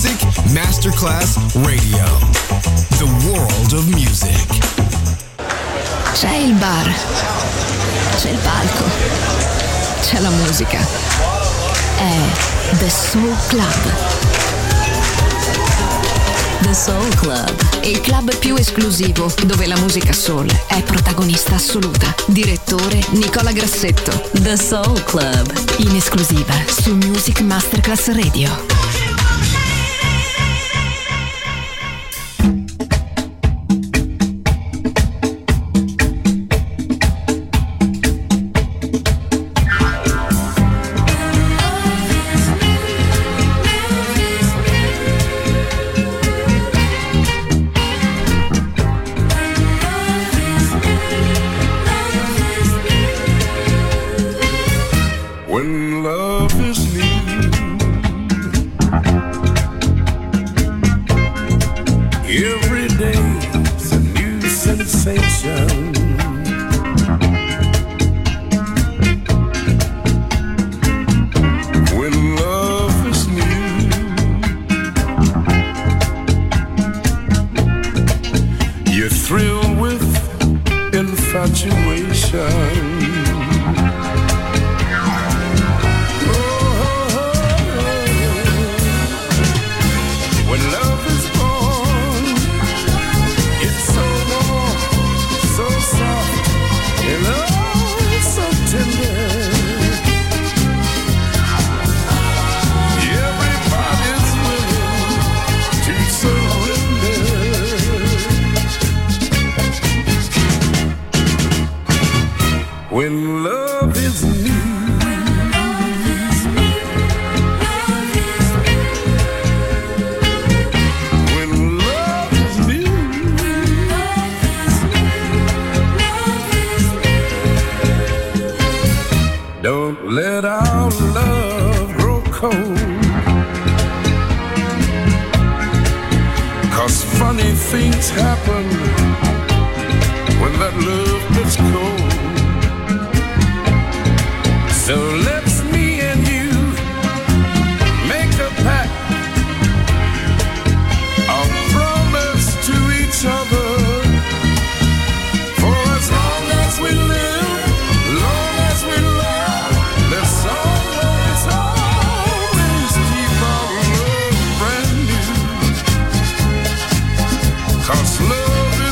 Music Masterclass Radio. The world of music. C'è il bar, c'è il palco, c'è la musica. È The Soul Club. The Soul Club, il club più esclusivo dove la musica soul è protagonista assoluta. Direttore Nicola Grassetto. The Soul Club, in esclusiva su Music Masterclass Radio. Love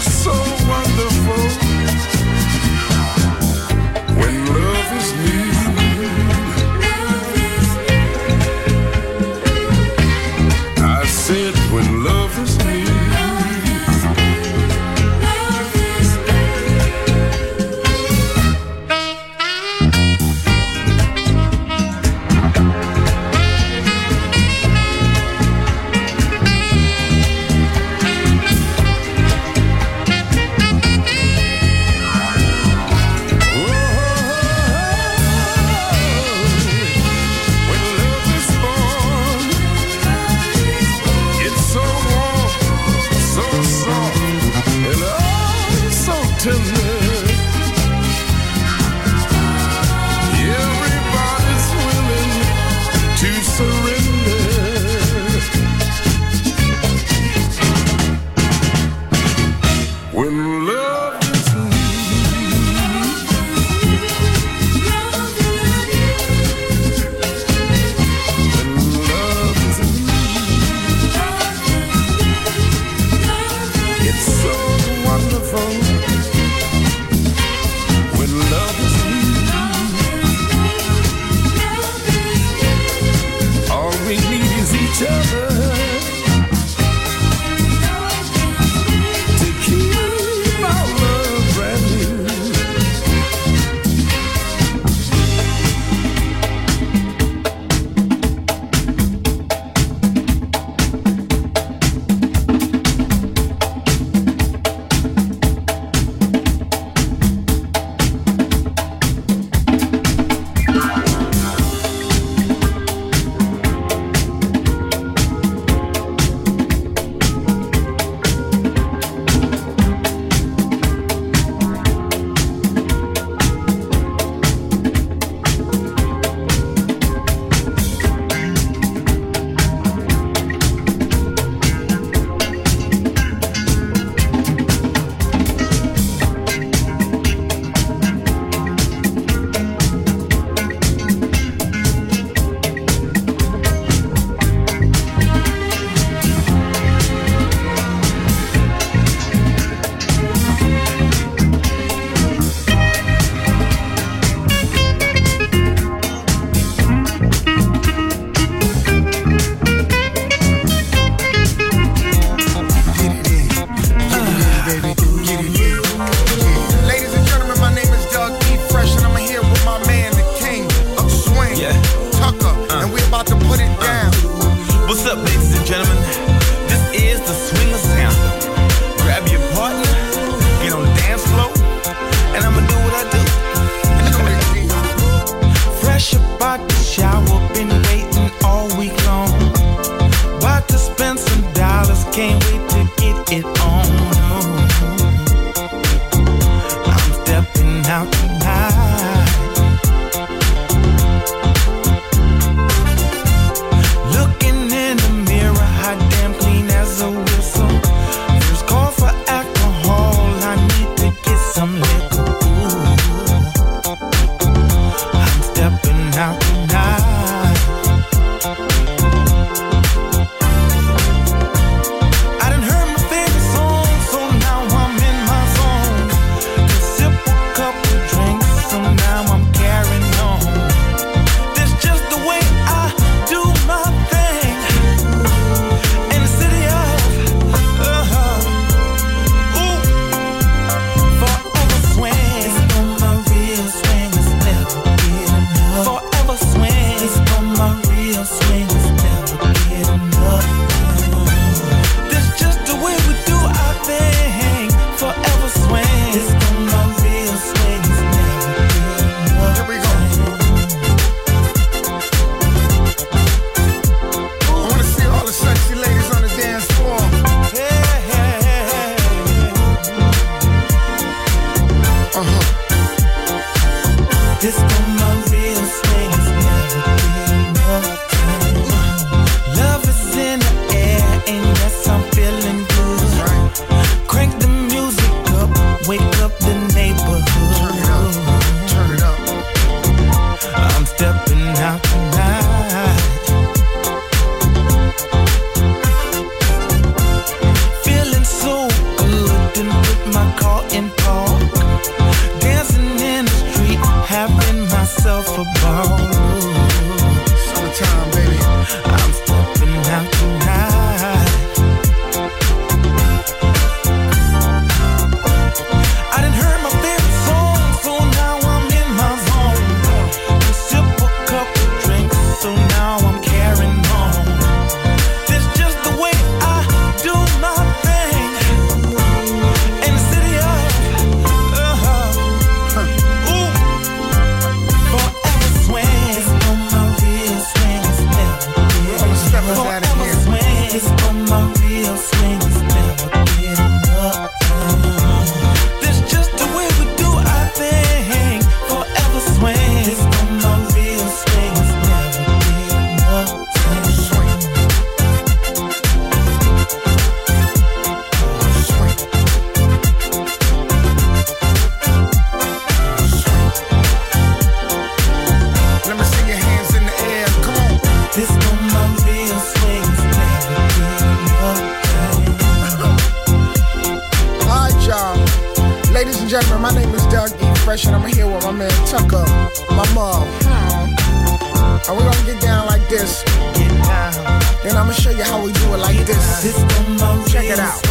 gentlemen, my name is Doug E. Fresh, and I'm here with my man Tucker, my mom. And we're gonna get down like this. Then I'm gonna show you how we do it like this. Check it out.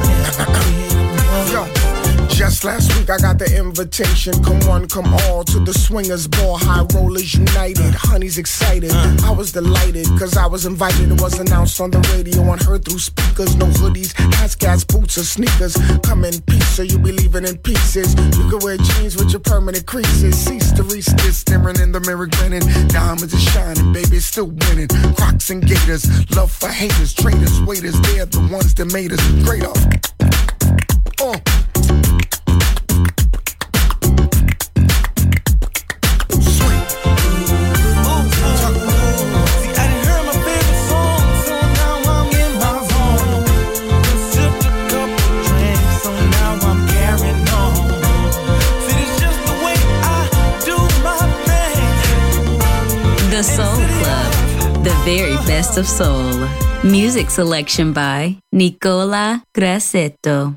Yo. Just last week I got the invitation. Come one, come all to the Swingers Ball. High Rollers United. Honey's excited. I was delighted cause I was invited. It was announced on the radio and heard through speakers. No hoodies, hats, gas, boots or sneakers. Come in peace so you be leaving in pieces. You can wear jeans with your permanent creases. Cease to resist, staring in the mirror grinning. Diamonds are shining, baby, still winning. Crocs and gators, love for haters. Traitors, waiters, they're the ones that made us greater. The Soul Club, the very best of soul. Music selection by Nicola Grassetto.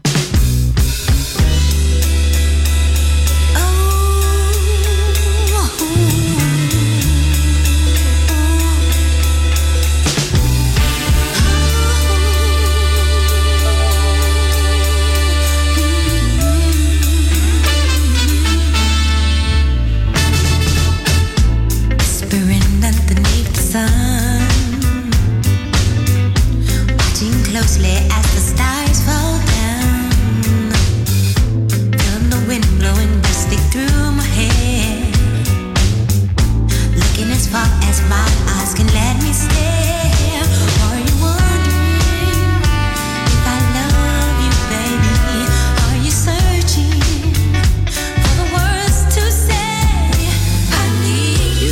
Closely as the stars fall down, feel the wind blowing dusty through my hair, looking as far as my eyes can let me stare. Are you wondering if I love you, baby? Are you searching for the words to say? I need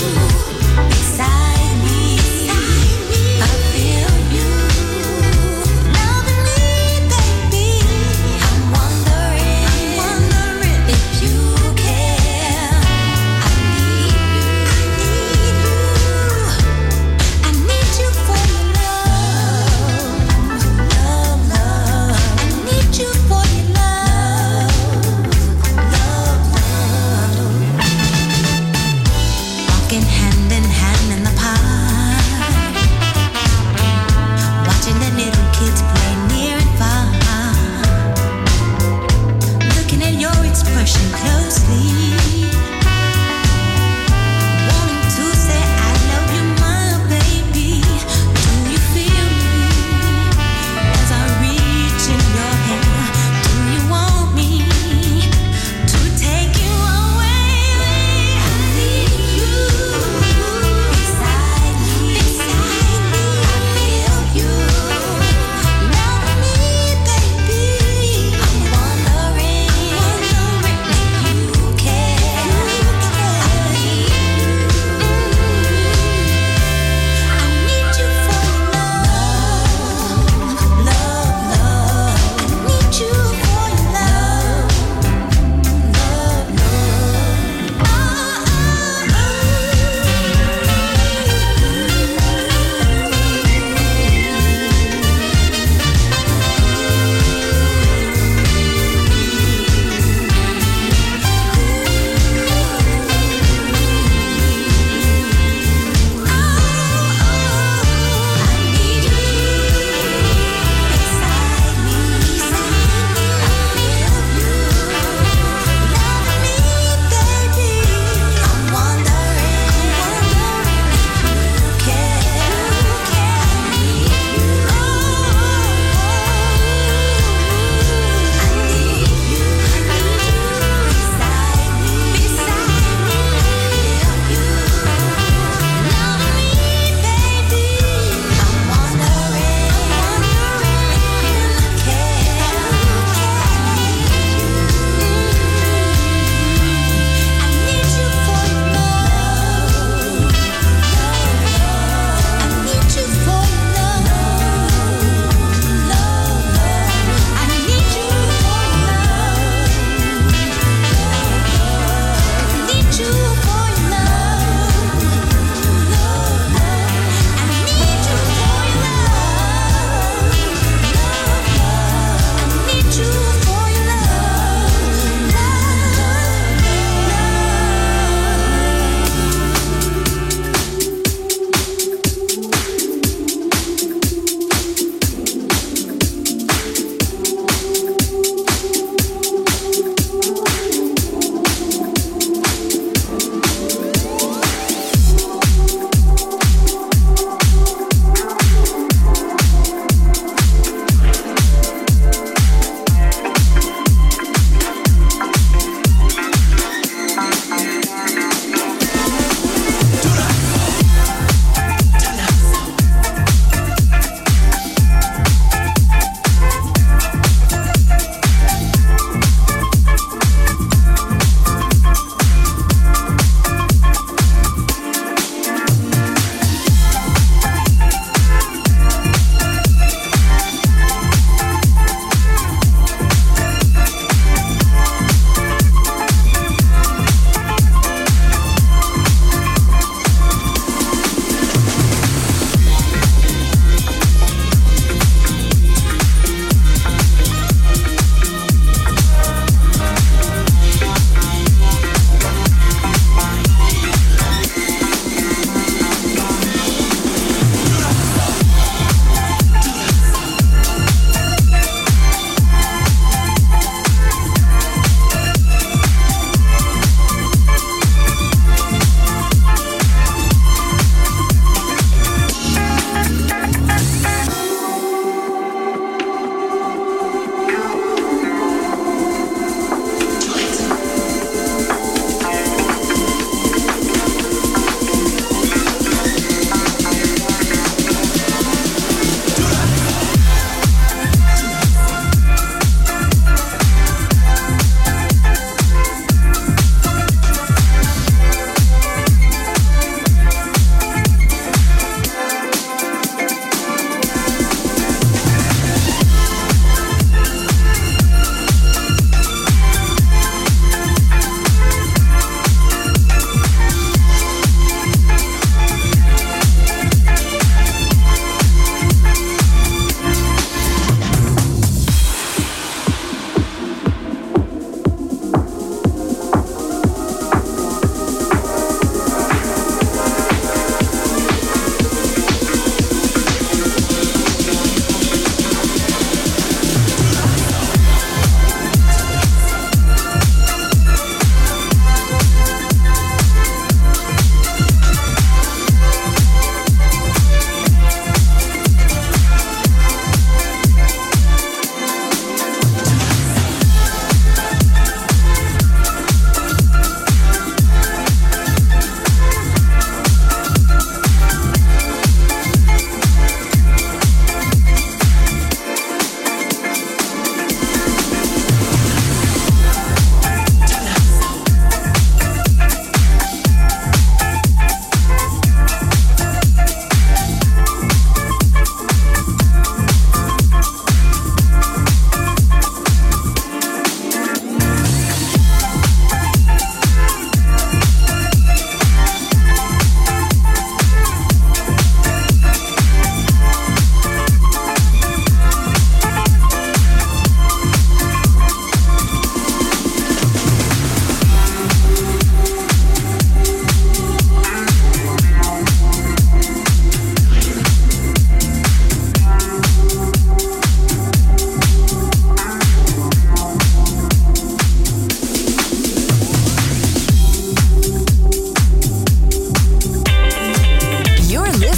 you beside me. I feel you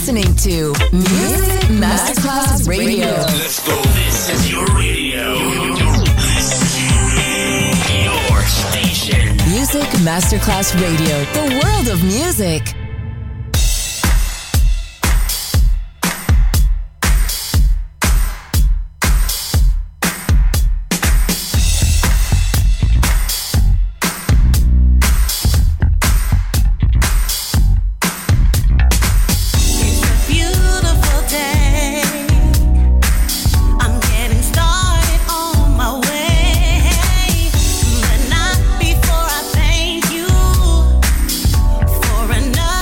listening to Music Masterclass Radio. Let's go. This is your radio. Your station. Music Masterclass Radio. The world of music. Before I thank you for another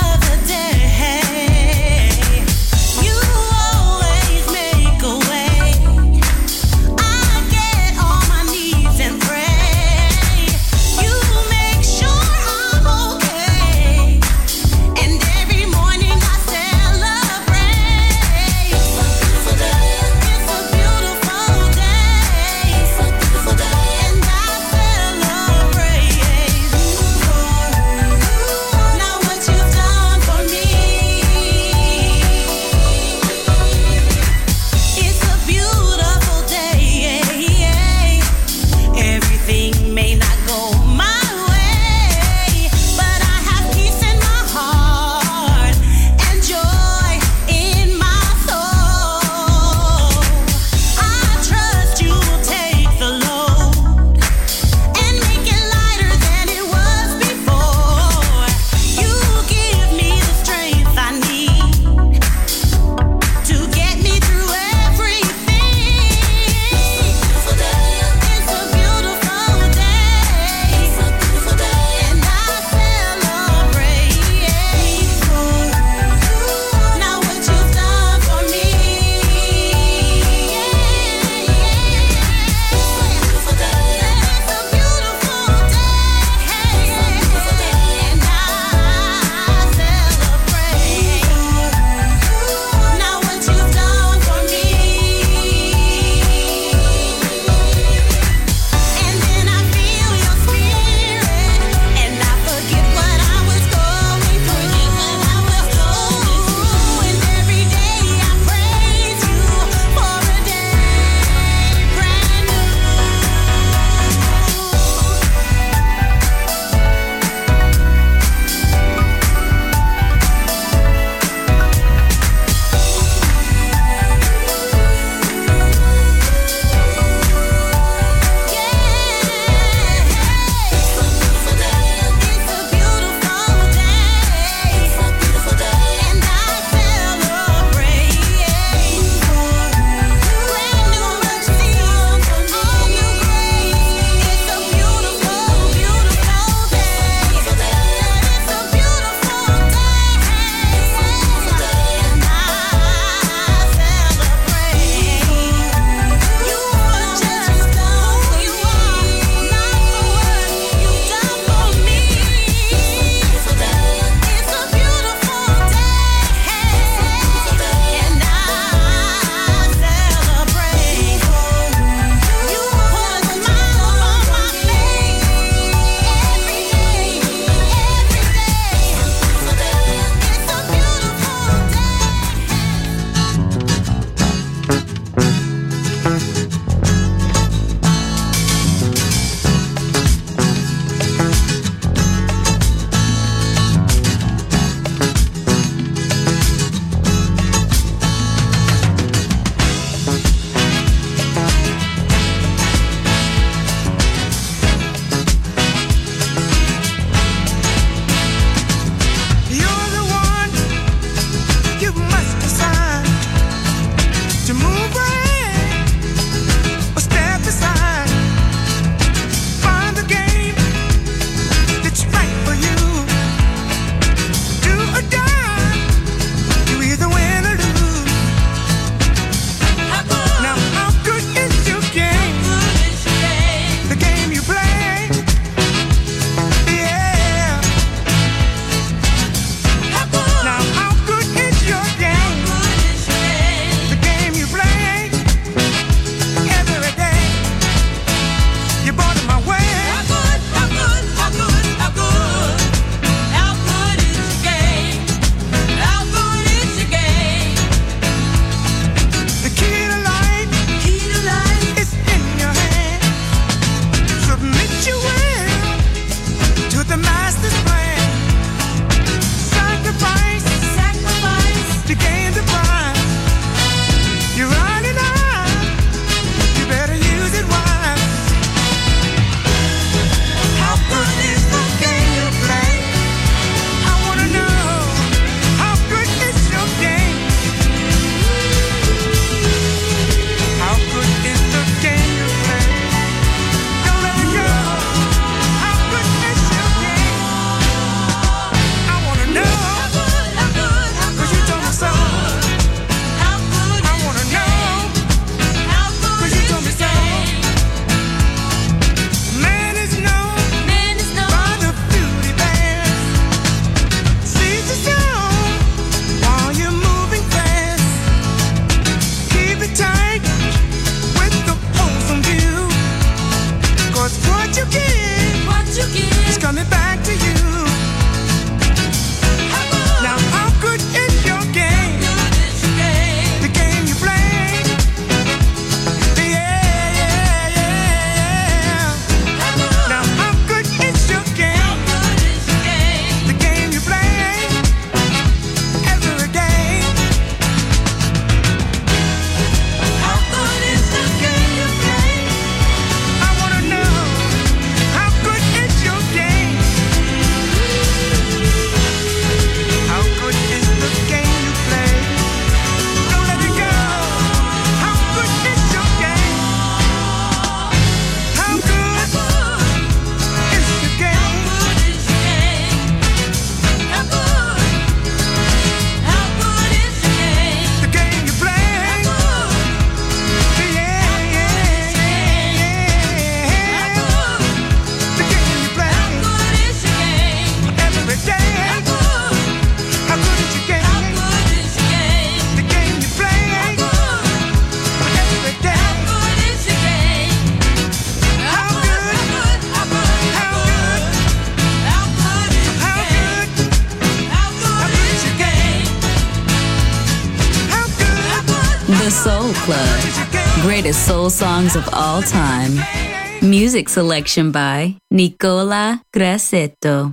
The Soul Club. Greatest soul songs of all time. Music selection by Nicola Grassetto.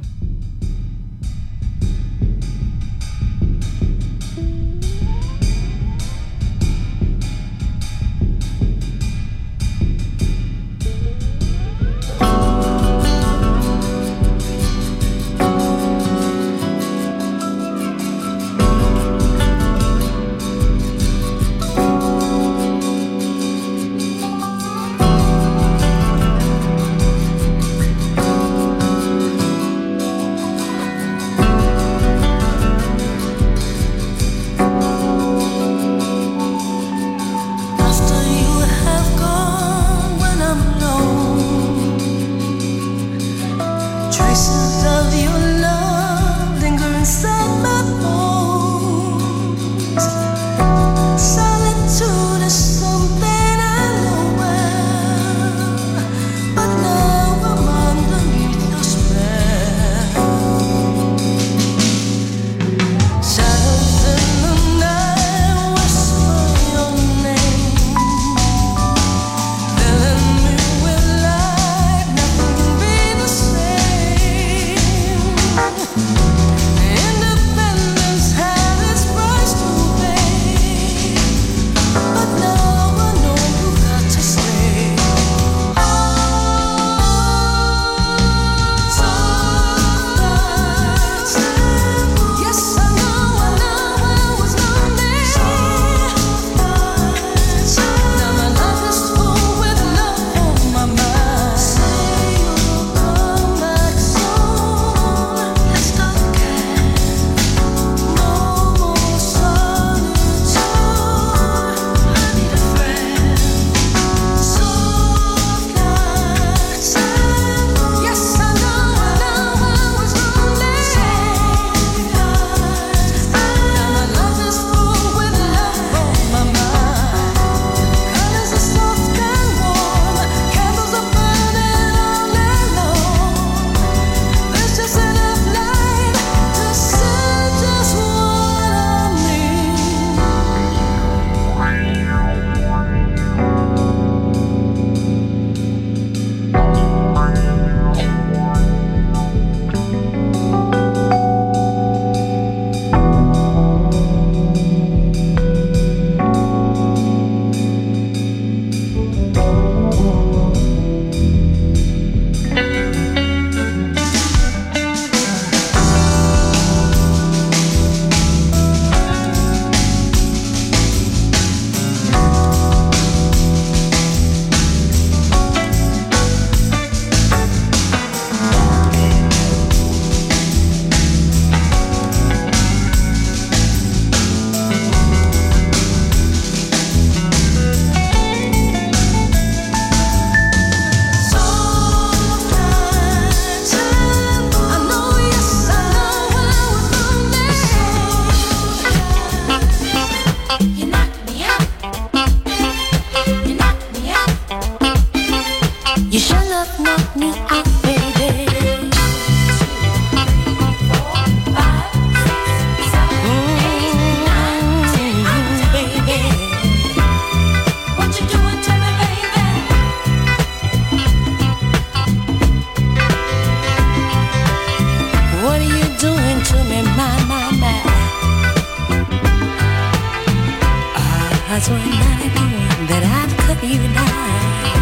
was one night that I'd cut you down.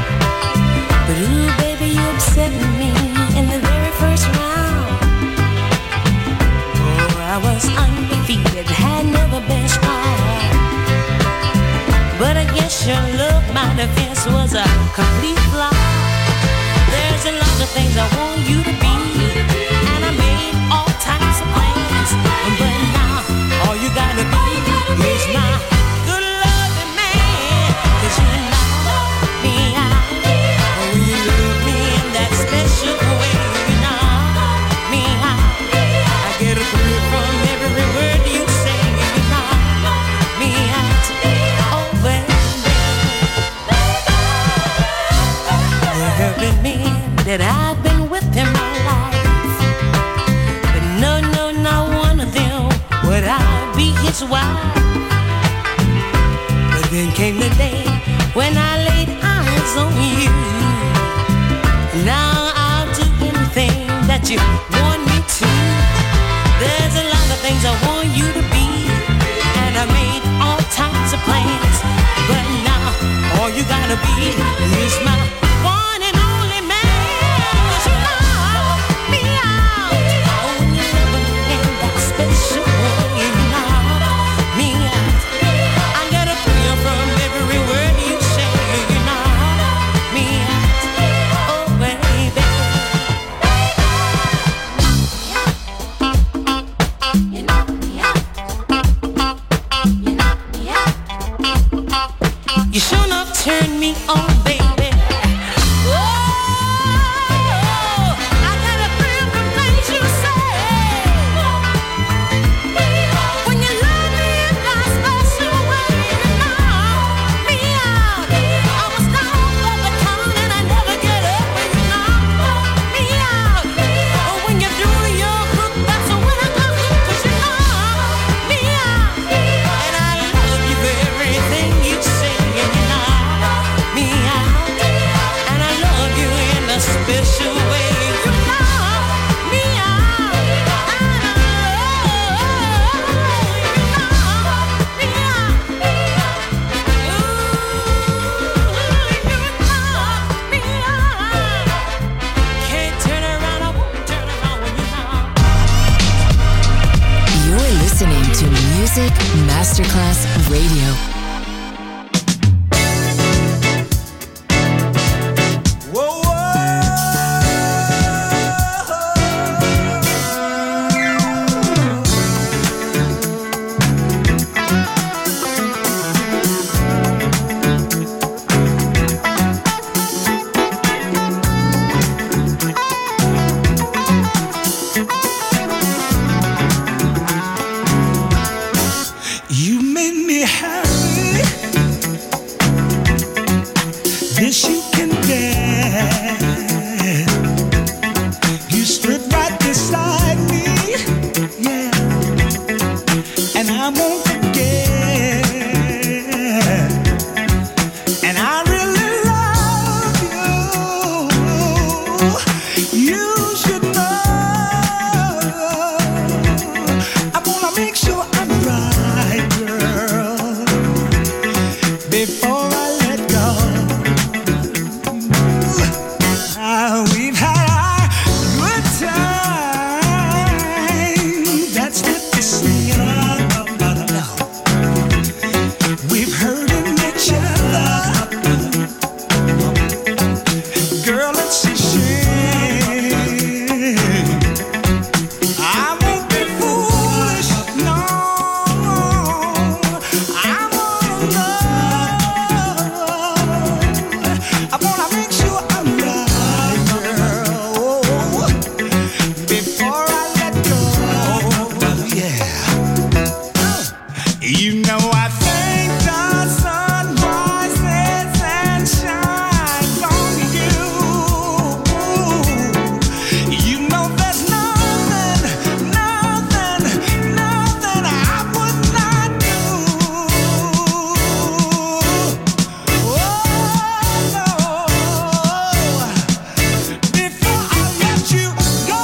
But ooh, baby, you upset me in the very first round. Oh, I was undefeated, had never been strong. But I guess your love, my defense was a complete flop. There's a lot of things I want you to be, and I made all types of plans. But now, all you gotta be is my good loving man. 'Cause you knock me out, oh, you love me in that special way. You knock me out, I get a thrill from every word you say. You knock me out, oh baby. There have been men that I've been with him all then came the day when I laid eyes on you. Now I'll do anything that you want me to. There's a lot of things I want you to be, and I made all types of plans. But now all you gotta be is my one and only man. 'Cause you knock me out. Oh, you never in that special way. You knock me out. I get a thrill from every word you say. You knock me out. Oh, baby. You knock me out. You knock me out. You sure enough turn me on, baby. Oh, I got a thrill from things you say. When you love me in that special way, you knock me out. I was down for the count and I never get up when you knock me out. Oh, when you do your hook, that's when I come in, 'cause you knock me out. And I love you for everything you say, and you knock me out. And I love you in a special way. You knock me out. And I love you. You knock me out. Ooh, you knock me out. Can't turn around, I won't turn around when you knock. You're listening to Music Masterclass Radio. You made me happy. This you can get. You stood right beside me, yeah, and I won't forget. And I really love you. You should know. I wanna make sure I'm right, girl, before I let go. We've had our good time. That's what they sing about. We've heard in each other. Girl, it's a shame. I won't be foolish, no. I wanna know. I wanna make sure I'm right, girl, before I let go. Yeah. You know I thank the sun rises and shines on you. You know there's nothing I would not do. Oh no, before I let you go.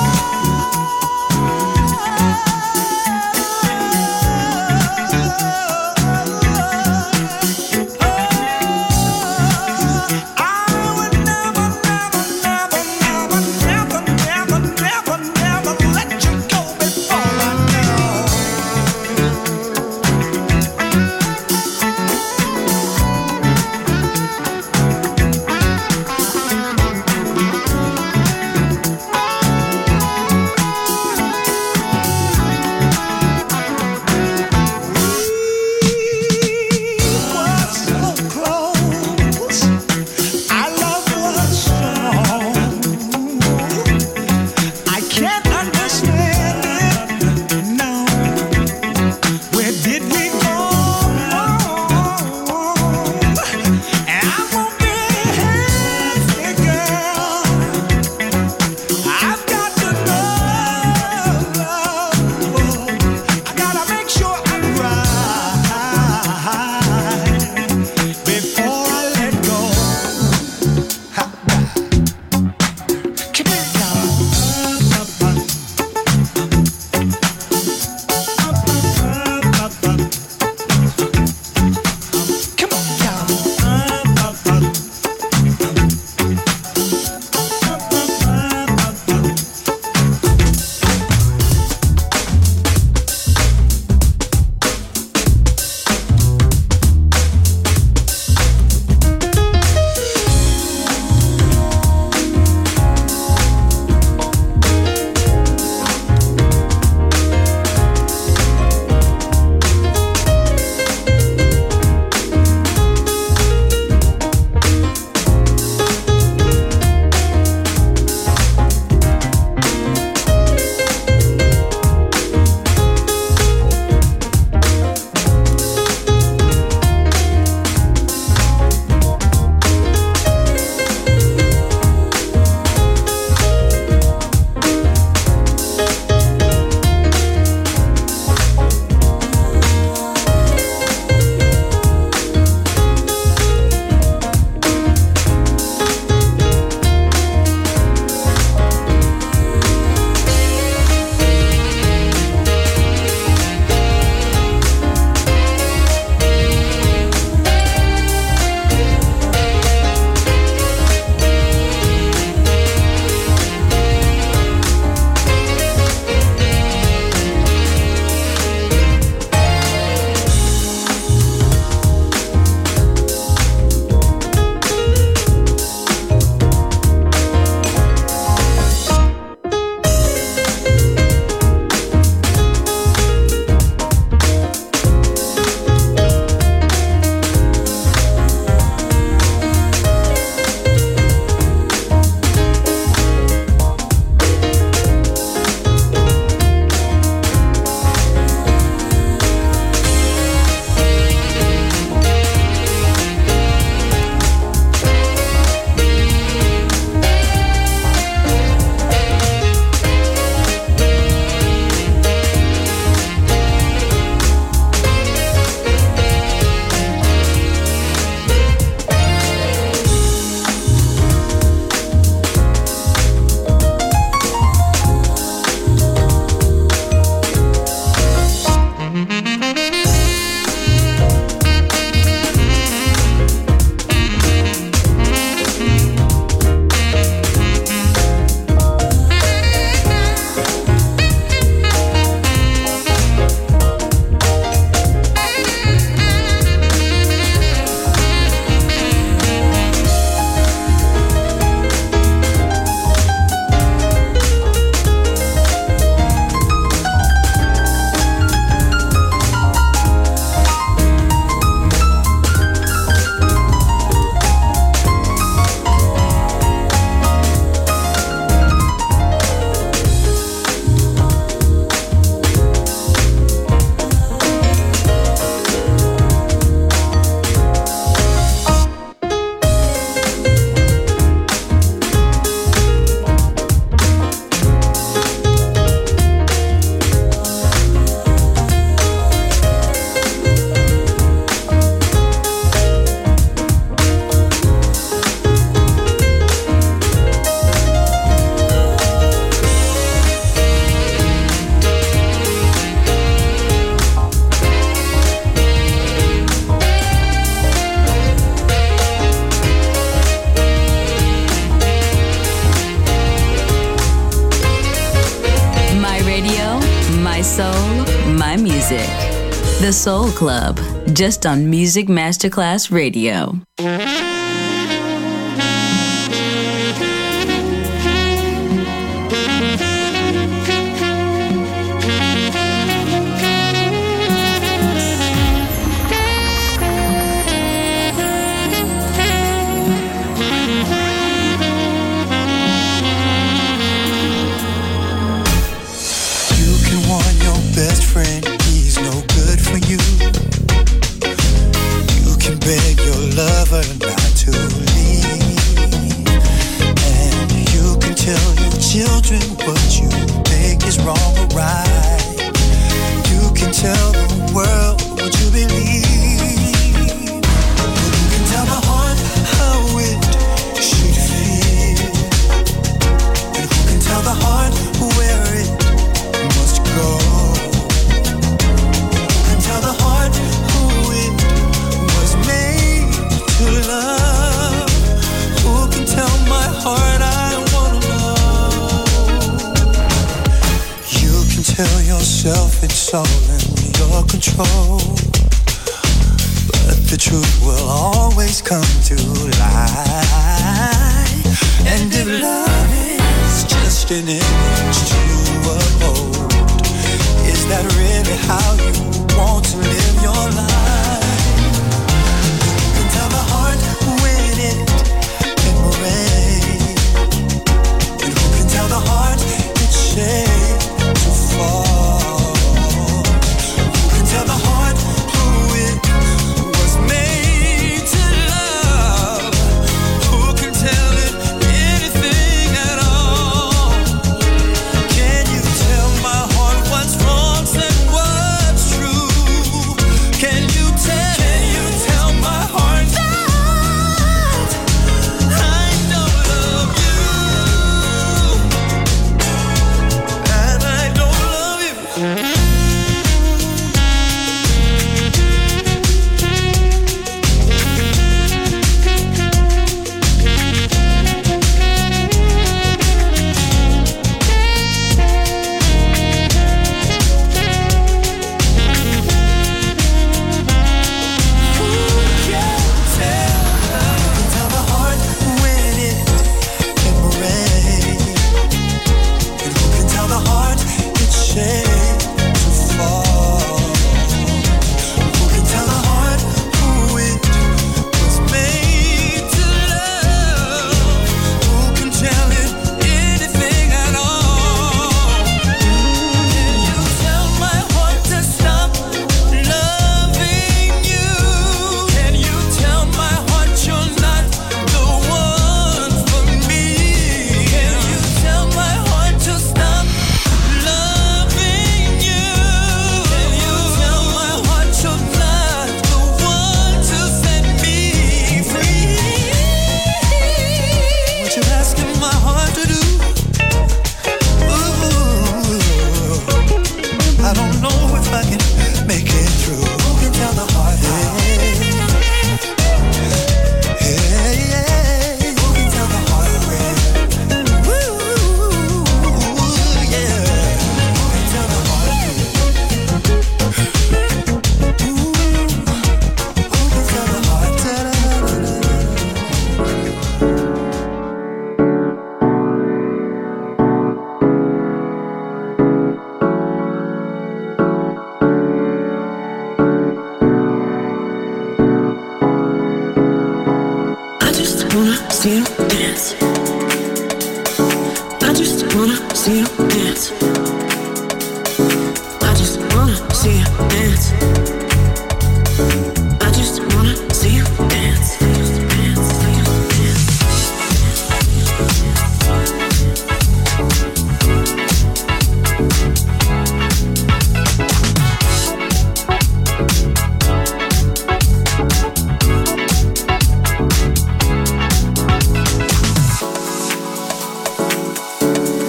The Soul Club, just on Music Masterclass Radio.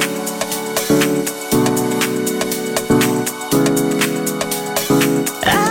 I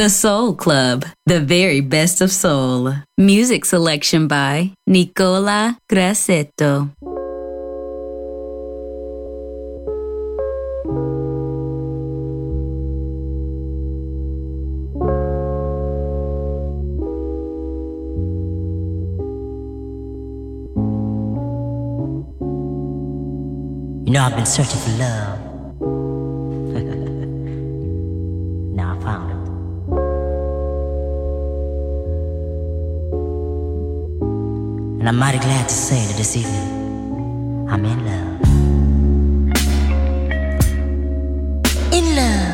The Soul Club, the very best of soul. Music selection by Nicola Grassetto. You know, I've been searching for love. Now I found it. And I'm mighty glad to say that this evening I'm in love. In love.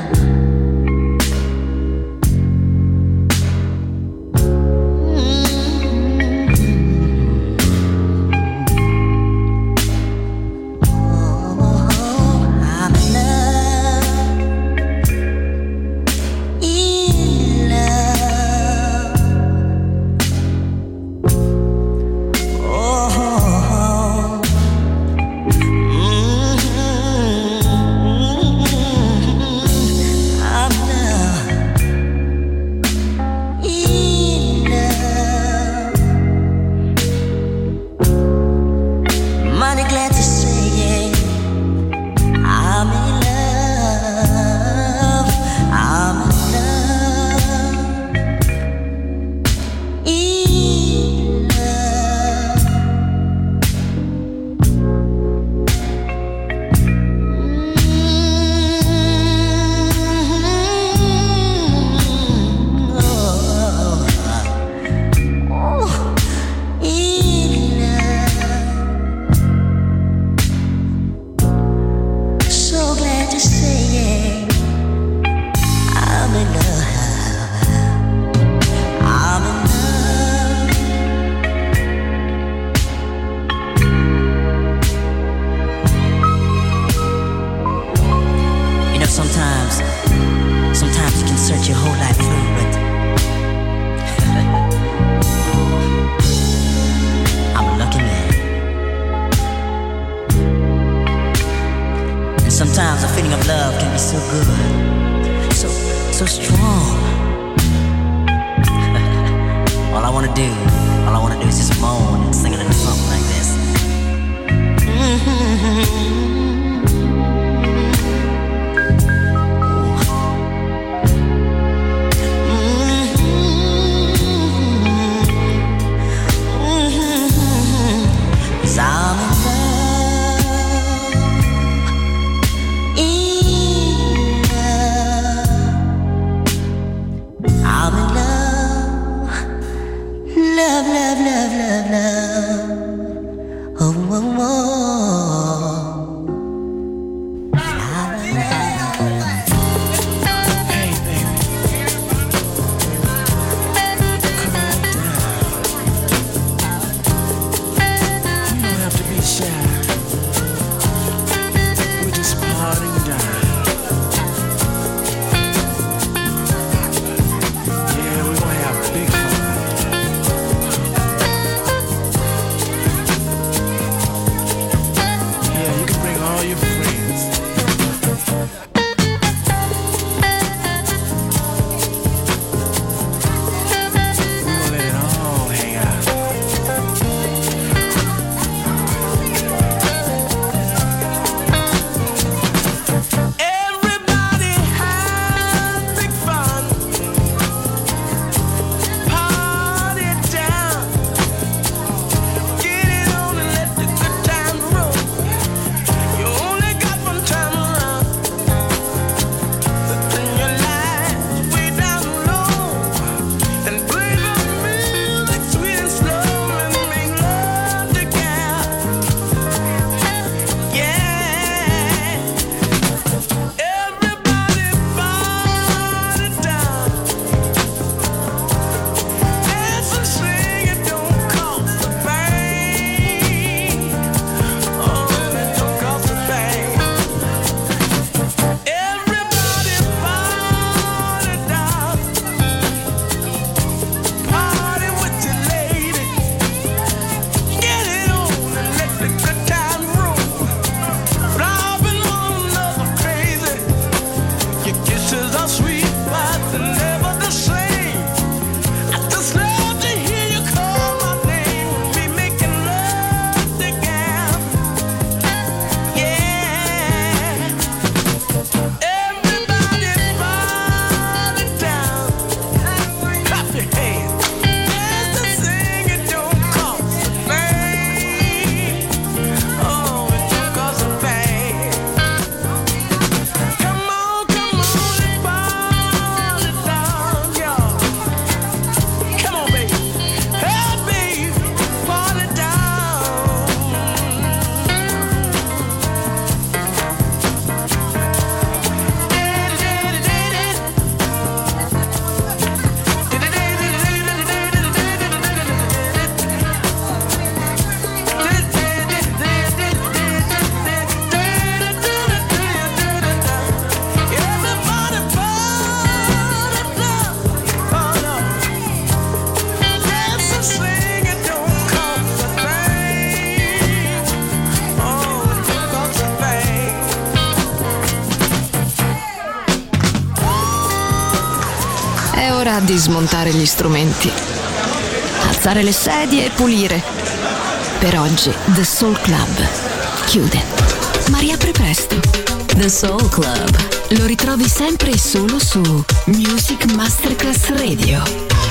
È ora di smontare gli strumenti, alzare le sedie e pulire. Per oggi The Soul Club chiude, ma riapre presto. The Soul Club lo ritrovi sempre e solo su Music Masterclass Radio.